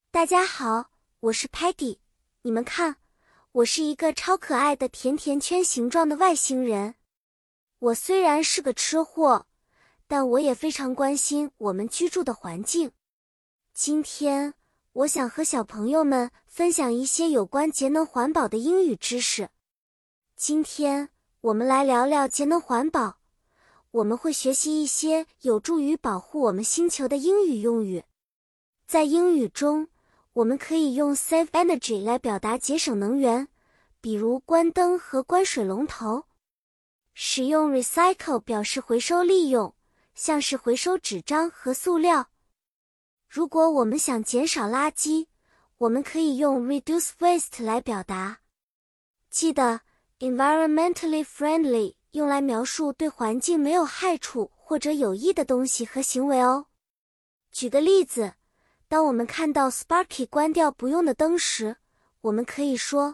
大家好，我是 Patty。你们看，我是一个超可爱的甜甜圈形状的外星人。我虽然是个吃货，但我也非常关心我们居住的环境。今天，我想和小朋友们分享一些有关节能环保的英语知识。今天，我们来聊聊节能环保。我们会学习一些有助于保护我们星球的英语用语。在英语中，我们可以用 save energy 来表达节省能源，比如关灯和关水龙头。使用 recycle 表示回收利用，像是回收纸张和塑料。如果我们想减少垃圾，我们可以用 reduce waste 来表达。记得 environmentally friendly 用来描述对环境没有害处或者有益的东西和行为哦。举个例子，当我们看到 Sparky 关掉不用的灯时，我们可以说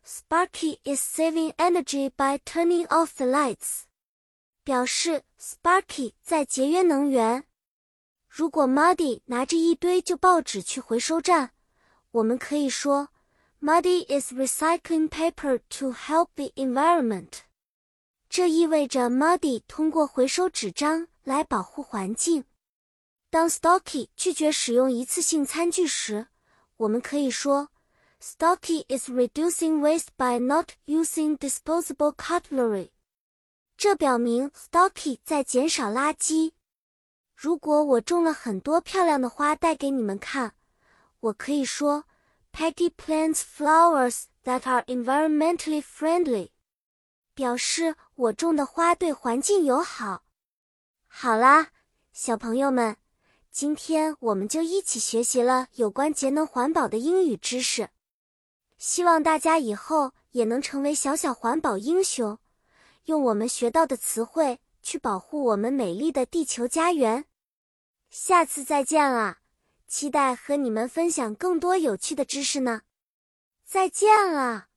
Sparky is saving energy by turning off the lights， 表示 Sparky 在节约能源。如果 Muddy 拿着一堆旧报纸去回收站，我们可以说 Muddy is recycling paper to help the environment。这意味着 Muddy 通过回收纸张来保护环境。当 Stocky 拒绝使用一次性餐具时，我们可以说 Stocky is reducing waste by not using disposable cutlery。这表明 Stocky 在减少垃圾。如果我种了很多漂亮的花带给你们看，我可以说 Patty plants flowers that are environmentally friendly， 表示我种的花对环境友好。好啦，小朋友们，今天我们就一起学习了有关节能环保的英语知识。希望大家以后也能成为小小环保英雄，用我们学到的词汇去保护我们美丽的地球家园。下次再见啦，期待和你们分享更多有趣的知识呢。再见了。